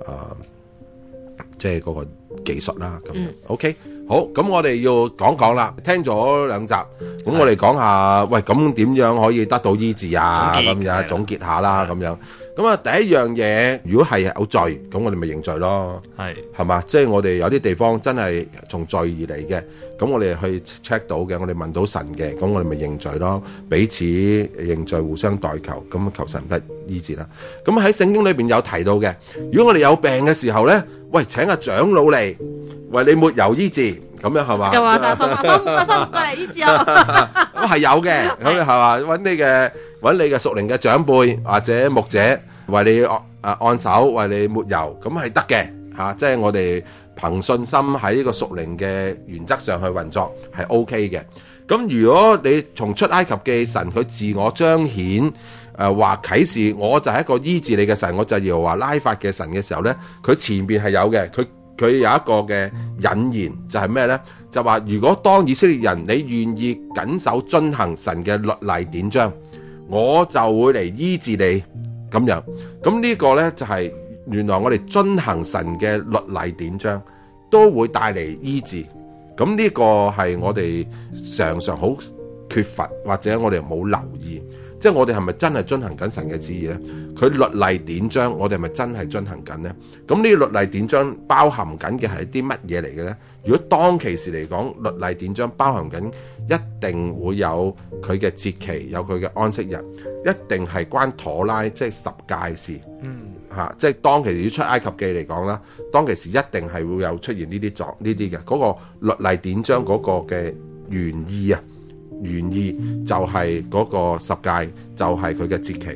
即係嗰個技術啦咁樣。OK。好，咁我哋要講啦，聽咗兩集，咁我哋講下，喂，咁點樣可以得到醫治啊？咁樣總結下啦，咁樣。咁啊，第一樣嘢，如果係有罪，咁我哋咪認罪咯，係嘛？即係我哋有啲地方真係從罪而嚟嘅，咁我哋去 check 到嘅，我哋問到神嘅，咁我哋咪認罪咯，彼此認罪，互相代求，咁求神得醫治啦。咁喺聖經裏邊有提到嘅，如果我哋有病嘅時候咧，喂，請阿長老嚟為你抹油醫治，咁樣係嘛？ 就話阿心過嚟醫治我。 咁係有嘅，咁係嘛？揾你嘅屬靈嘅長輩或者牧者為你按手，為你抹油，咁係得嘅嚇。即係我哋憑信心喺呢個屬靈嘅原則上去運作係 OK 嘅。咁如果你從出埃及記神佢自我彰顯話啟示，我就係一個醫治你嘅神，我就係耶和華拉法嘅神嘅時候咧，佢前邊係有嘅，佢有一個嘅引言就係咩呢？就話如果當以色列人你願意謹守遵行神嘅律例典章，我就會嚟醫治你咁樣。咁呢個呢，就係原來我哋遵行神嘅律例典章都會帶嚟醫治。咁呢個係我哋常常好缺乏或者我哋冇留意。即係我哋係咪真係遵行緊神嘅旨意呢？佢律例典章，我哋係咪真係遵行緊呢？咁呢個律例典章包含緊嘅係啲乜嘢嚟嘅呢？如果當其時嚟講，律例典章包含緊一定會有佢嘅節期，有佢嘅安息日，一定係關妥拉即係十誡事。即係當其時出埃及記嚟講啦，當其時一定係會有出現呢啲嘅嗰個律例典章嗰個嘅原意啊。原意就係嗰個十誡，就係佢嘅節期，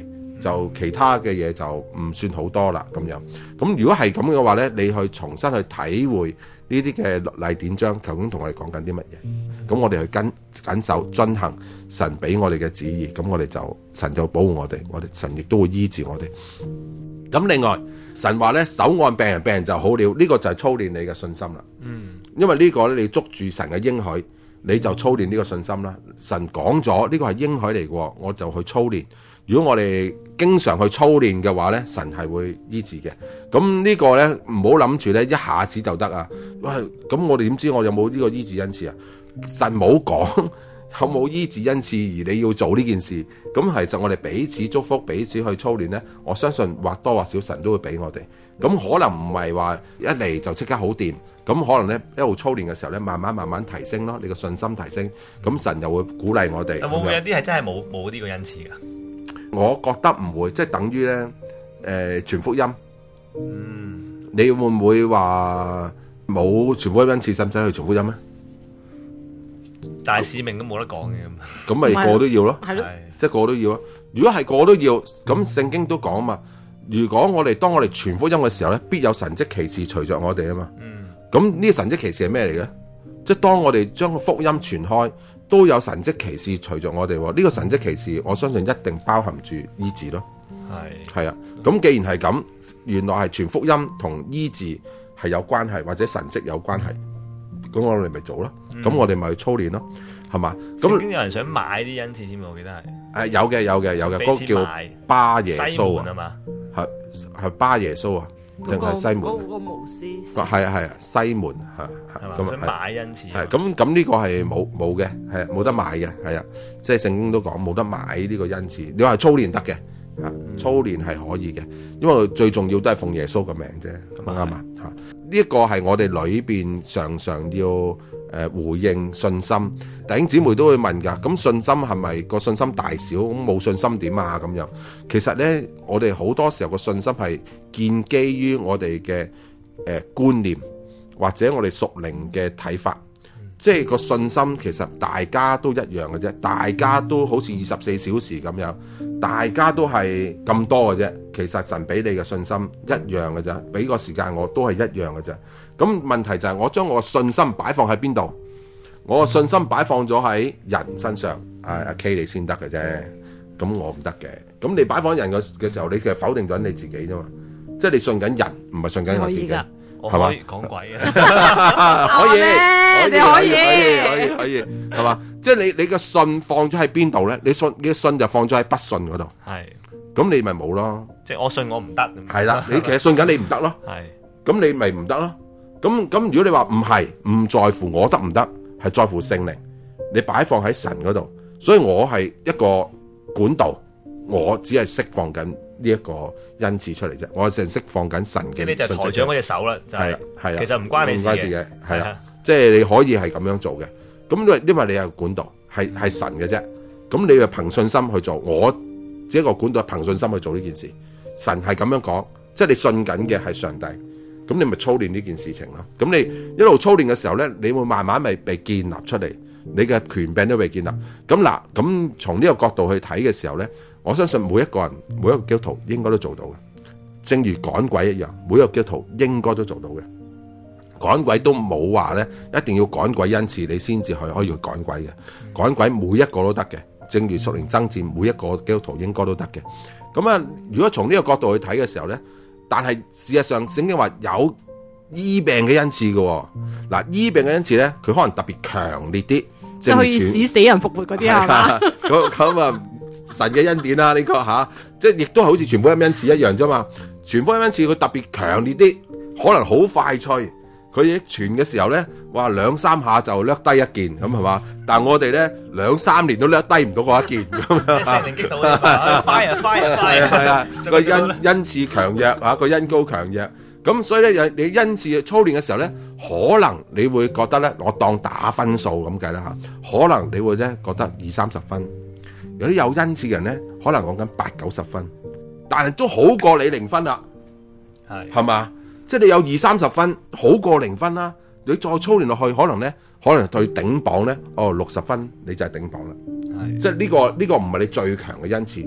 就其他嘅嘢就唔算好多啦咁樣。咁如果係咁嘅話咧，你去重新去體會呢啲嘅律例典章究竟同我哋講緊啲乜嘢？咁我哋去緊守遵行神俾我哋嘅旨意，咁我哋就神就保護我哋神亦都會醫治我哋。咁另外神話咧，手按病人，病人就好了，呢個就係操練你嘅信心啦。因為呢個咧，你捉住神嘅應許，你就操練呢個信心啦。神講咗呢個係應許嚟嘅，我就去操練。如果我哋經常去操練嘅話咧，神係會醫治嘅。咁呢個咧，唔好諗住咧一下子就得啊！喂，咁我哋點知我有冇呢個醫治恩賜啊？神冇講有冇醫治恩賜，而你要做呢件事。咁其實我哋彼此祝福，彼此去操練咧，我相信或多或少神都會俾我哋。咁可能唔係話一嚟就即刻好掂，咁可能咧一路操練嘅時候咧，慢慢提升咯，你個信心提升，咁神又會鼓勵我哋。 會唔會有啲係真係冇呢個恩賜㗎？ 我覺得唔會，即係等於咧傳福音。你會唔會話冇傳福音恩賜，使唔使去傳福音咧？ 大使命都冇得講嘅咁咪個個都要咯， 係咯， 即係個個都要咯。如果係個個都要，咁聖經都講啊嘛。如果當我哋傳福音嘅時候咧，必有神蹟奇事隨着我哋啊嘛。咁呢個神蹟奇事係咩嚟嘅？即係當我哋將個福音傳開，都有神蹟奇事隨着我哋。呢個神蹟奇事，我相信一定包含住醫治咯。係啊。咁既然係咁，原來係傳福音同醫治係有關係，或者神蹟有關係。咁我哋咪做咯，咁我哋咪去操練咯，係嘛？咁有人想買啲恩賜添，我記得係。 有嘅，嗰個叫巴耶穌啊嘛， 係巴耶穌啊，定係西門？ 嗰個巫師。 係啊，西門咁啊，買恩賜。 係咁呢個係冇嘅，係冇得買嘅，係啊，即係聖經都講冇得買呢個恩賜。你話操練得嘅，操練係可以嘅，因為最重要都係奉耶穌嘅名啫，啱嘛嚇。呢一個係我哋裏邊常常要回應信心，弟兄姊妹都會問㗎。咁信心係咪個信心大小？咁冇信心點啊？咁樣其實咧，我哋好多時候個信心係建基於我哋嘅觀念，或者我哋屬靈嘅睇法。即係個信心其實大家都一樣嘅啫，大家都好似24小時咁樣，大家都係咁多嘅啫。其實神俾你嘅信心一樣嘅啫，俾個時間我都係一樣嘅啫。咁問題就係我將我信心擺放喺邊度？我個信心擺放咗喺人身上，阿 K 你先得嘅啫。咁我唔得嘅。咁你擺放人嘅時候，你其實否定咗你自己啫嘛。即係你信緊人，唔係信緊我自己。 係嘛？講鬼啊！ 可以，係嘛？即係你嘅信放咗喺邊度咧？你嘅信就放咗喺不信嗰度。 係。 咁你咪冇咯。 即係我信我唔得。 係啦，你其實信緊你唔得咯。 係。 咁你咪唔得咯。咁如果你話唔係，唔在乎我得唔得，係在乎聖靈。你擺放喺神嗰度，所以我係一個管道，我只係釋放緊呢一個恩賜出嚟啫，我淨係釋放緊神嘅。 即係你就抬掌嗰隻手啦，就係其實唔關你事嘅， 係啦，即係你可以係咁樣做嘅。咁因為你係管道，係神嘅啫。咁你就憑信心去做，我只一個管道，憑信心去做呢件事。神係咁樣講，即係你信緊嘅係上帝，咁你咪操練呢件事情咯。咁你一路操練嘅時候咧，你會慢慢咪被建立出嚟，你嘅權柄都被建立。咁從呢個角度去睇嘅時候咧，我相信每一個人，每一個基督徒應該都做到嘅，正如趕鬼一樣，每一個基督徒應該都做到嘅。趕鬼都冇話咧，一定要趕鬼恩賜你先至可以去趕鬼嘅。趕鬼每一個都得嘅，正如屬靈爭戰，每一個基督徒應該都得嘅。咁啊，如果從呢個角度去睇嘅時候咧，但係事實上聖經話有醫病嘅恩賜嘅。嗱，醫病嘅恩賜咧，佢可能特別強烈啲， 即係可以使死人復活嗰啲係嘛？ 咁啊。神嘅恩典啦，呢個即係亦都係好似傳福音恩賜一樣啫嘛。傳福音恩賜佢特別強烈啲，可能好快脆。佢一傳嘅時候咧，哇2-3下就掠低一件咁係嘛？但係我哋咧2-3年都掠低唔到嗰一件咁樣。 聖靈擊到啊！快啊！ 個恩賜強弱啊，個恩膏強弱。咁所以咧，你恩賜操練嘅時候咧，可能你會覺得咧，我當打分數咁計啦嚇。可能你會咧覺得20-30分。有啲有恩賜嘅人咧，可能講緊80-90分，但係都好過你0分啦，係嘛？即係你有20-30分，好過0分啦。你再操練落去，可能對頂榜咧，60分你就係頂榜啦。即係呢個唔係你最強嘅恩賜，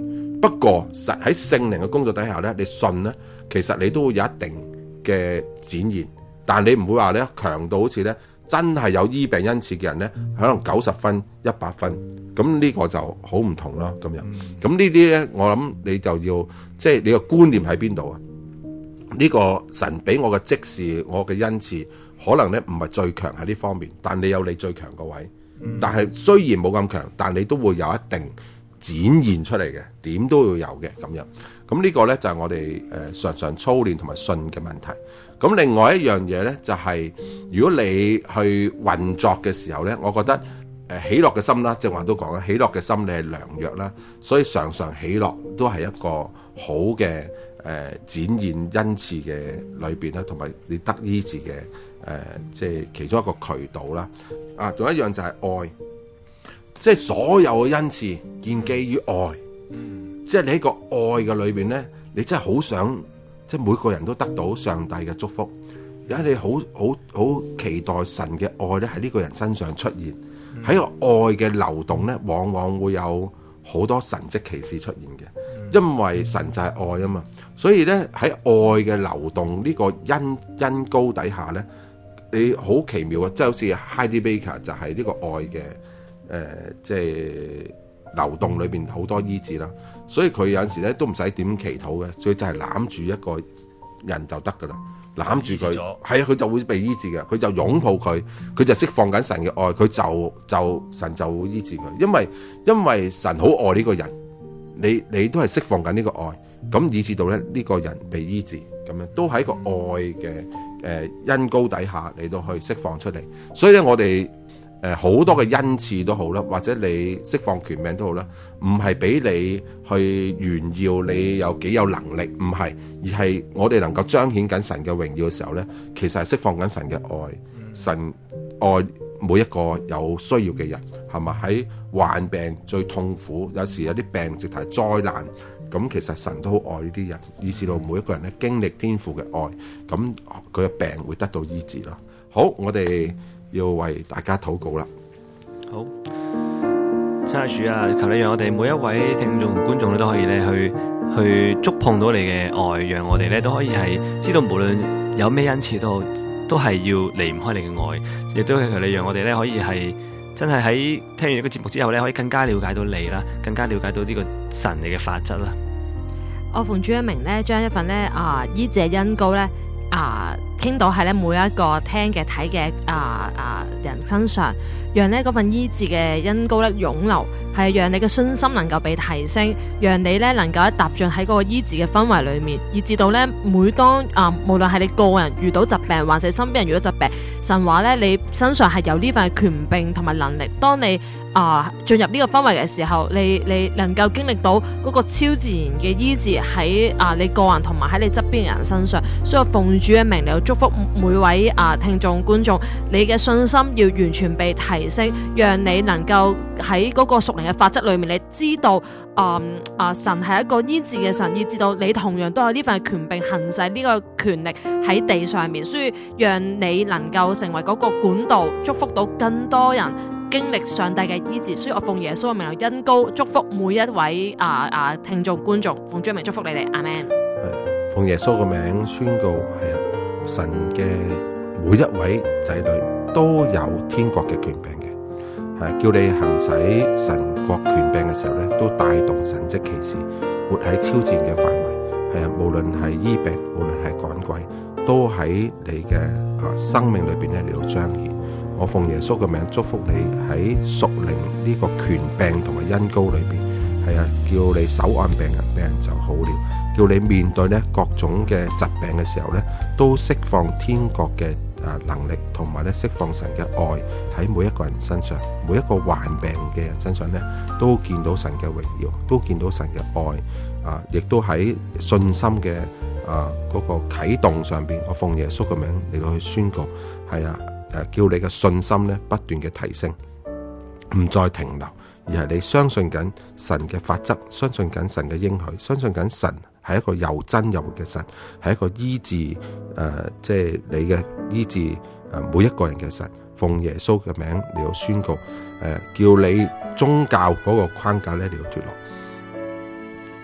不過實喺聖靈嘅工作底下咧，你信咧，其實你都會有一定嘅展現，但你唔會話咧強到好似咧真係有醫病恩賜嘅人咧，可能90分、100分，咁呢個就好唔同咯。咁樣，咁呢啲咧，我諗你就要即係你個觀念喺邊度啊？呢個神俾我嘅職事，我嘅恩賜，可能咧唔係最強喺呢方面，但你有你最強個位。但係雖然冇咁強，但你都會有一定展現出嚟嘅，點都要有嘅咁樣。咁呢個咧就係我哋常常操練同埋信嘅問題。咁另外一樣嘢咧就係，如果你去運作嘅時候咧，我覺得喜樂嘅心啦，正話都講啦，喜樂嘅心你係良藥啦，所以常常喜樂都係一個好嘅展現恩賜嘅裏邊啦，同埋你得醫治嘅即係其中一個渠道啦。啊，仲有一樣就係愛，即係所有嘅恩賜建基於愛。即係你喺個愛嘅裏邊咧，你真係好想，即係每個人都得到上帝嘅祝福。而家你好期待神嘅愛咧喺呢個人身上出現，喺個愛嘅流動咧，往往會有好多神蹟奇事出現嘅，因為神就係愛啊嘛。所以咧喺愛嘅流動呢個恩膏底下咧，你好奇妙啊！即係好似 Heidi Baker 就係呢個愛嘅即係流動裏邊好多醫治啦。所以佢有陣時咧都唔使點祈禱嘅，所以就係攬住一個人就得噶啦，攬住佢，係啊，佢就會被醫治嘅，佢就擁抱佢，佢就釋放緊神嘅愛，佢就神就會醫治佢，因為神好愛呢個人，你都係釋放緊呢個愛，咁以至到咧呢個人被醫治，咁樣都喺個愛嘅恩膏底下嚟到去釋放出嚟。所以咧我哋好多嘅恩賜都好啦，或者你釋放權柄都好啦，唔係俾你去炫耀你有幾有能力，唔係，而係我哋能夠彰顯緊神嘅榮耀嘅時候咧，其實係釋放緊神嘅愛，神愛每一個有需要嘅人，係嘛？喺患病最痛苦，有時有啲病直頭係災難，咁其實神都好愛呢啲人，以至到每一個人咧經歷天父嘅愛，咁佢嘅病會得到醫治咯。好，我哋要為大家禱告啦。 好，親愛主啊，求你讓我哋每一位聽眾觀眾都可以咧去觸碰到你嘅愛，讓我哋咧都可以係知道無論有咩恩賜都係要離唔開你嘅愛，亦都求你讓我哋咧可以係真係喺聽完呢個節目之後咧，可以更加了解到你啦，更加了解到呢個神你嘅法則啦。 我奉主嘅名咧，將一份咧醫治嘅恩膏咧傾到喺咧每一個聽嘅睇嘅人身上，讓呢嗰份醫治嘅恩膏咧湧流，係讓你嘅信心能夠被提升，讓你咧能夠踏進喺嗰個醫治嘅氛圍裏面，以至到咧每當無論係你個人遇到疾病，還是身邊人遇到疾病，神話咧你身上係有呢份權柄同埋能力，當你進入呢個氛圍嘅時候，你能夠經歷到嗰個超自然嘅醫治喺你個人同埋喺你側邊嘅人身上。所以我奉主嘅名嚟祝福每位聽眾觀眾，你嘅信心要完全被提升，讓你能夠喺嗰個屬靈嘅法則裏面，你知道神係一個醫治嘅神，以至到你同樣都有呢份權柄行使呢個權力喺地上面，所以讓你能夠成為嗰個管道，祝福到更多人經歷上帝嘅醫治。所以我奉耶穌嘅名嚟恩膏祝福每一位聽眾觀眾，奉主名祝福你哋，阿們。 奉耶穌嘅名宣告，係啊，神嘅每一位仔女都有天國嘅權柄嘅，係叫你行使神國權柄嘅時候咧，都帶動神蹟奇事，活喺超自然嘅範圍，係啊，無論係醫病，無論係趕鬼，都喺你嘅生命裏邊咧嚟到彰顯。我奉耶穌嘅名祝福你喺屬靈呢個權柄同埋恩膏裏邊，係啊，叫你手按病人就好了，叫你面對咧各種嘅疾病嘅時候咧，都釋放天國嘅能力，同埋咧釋放神嘅愛喺每一個人身上，每一個患病嘅人身上咧，都見到神嘅榮耀，都見到神嘅愛亦都喺信心嘅嗰個啟動上邊，我奉耶穌嘅名嚟到去宣告，係啊。叫你嘅信心咧不斷嘅提升，唔再停留，而係你相信緊神嘅法則，相信緊神嘅應許，相信緊神係一個又真又活嘅神，係一個醫治即係你嘅醫治每一個人嘅神。奉耶穌嘅名嚟到宣告，叫你宗教嗰個框架咧嚟到脫落，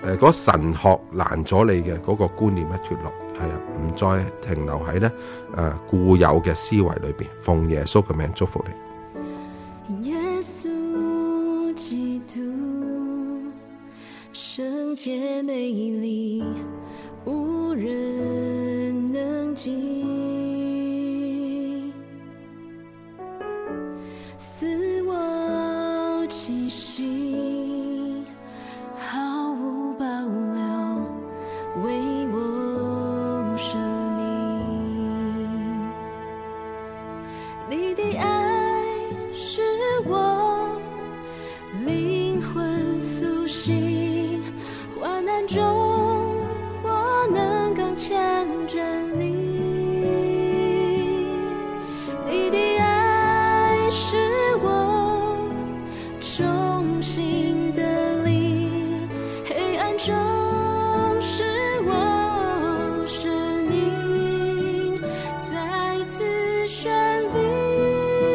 嗰神學攔咗你嘅嗰個觀念一脱落，係啊，唔再停留喺咧固有嘅思維裏邊。奉耶穌嘅名祝福你。 耶穌基督，聖潔美麗，無人能及，似我氣息，毫無保留，為我捨命。你的愛使我靈魂甦醒，患難中我能剛強站立。你的愛使我重新得力，黑暗中使我生命再次絢麗。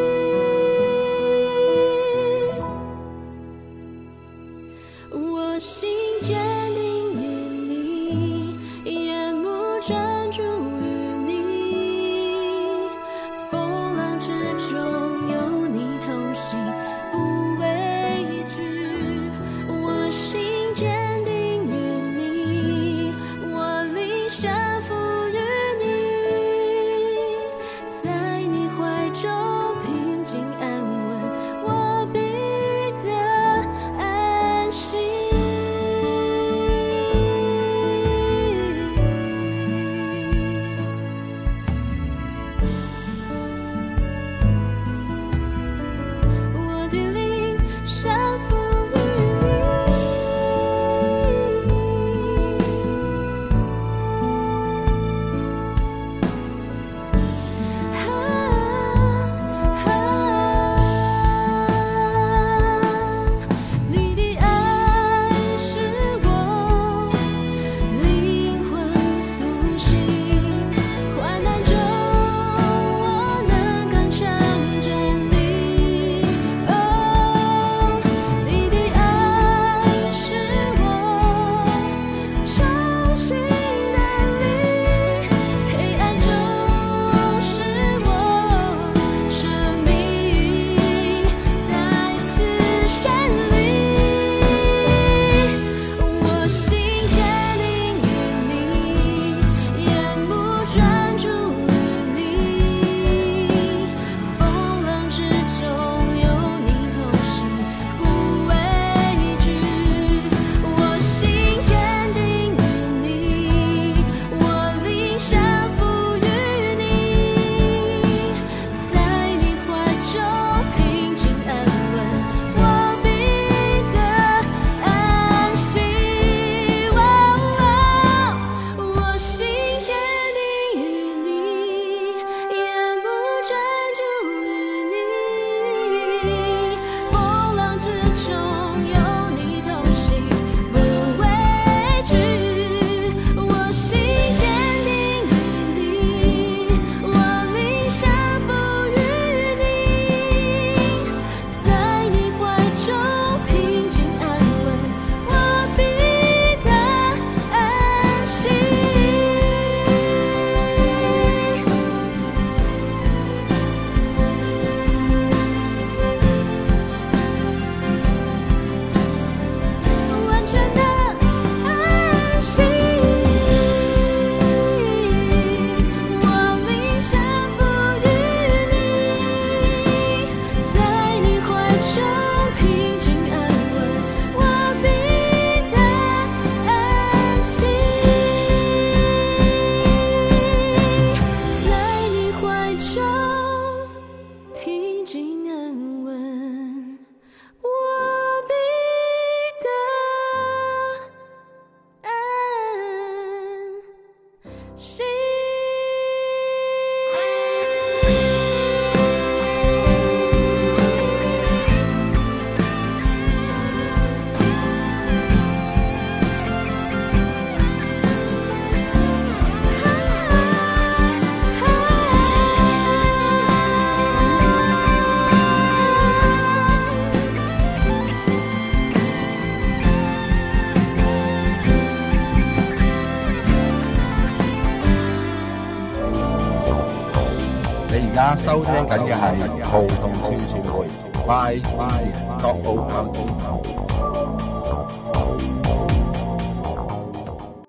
家收聽緊嘅係葡萄說說會，拜拜，各澳